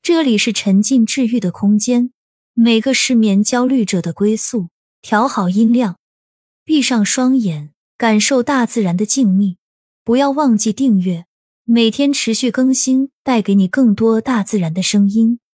这里是沉浸治愈的空间，每个失眠焦虑者的归宿。调好音量，闭上双眼，感受大自然的静谧。不要忘记订阅，每天持续更新，带给你更多大自然的声音。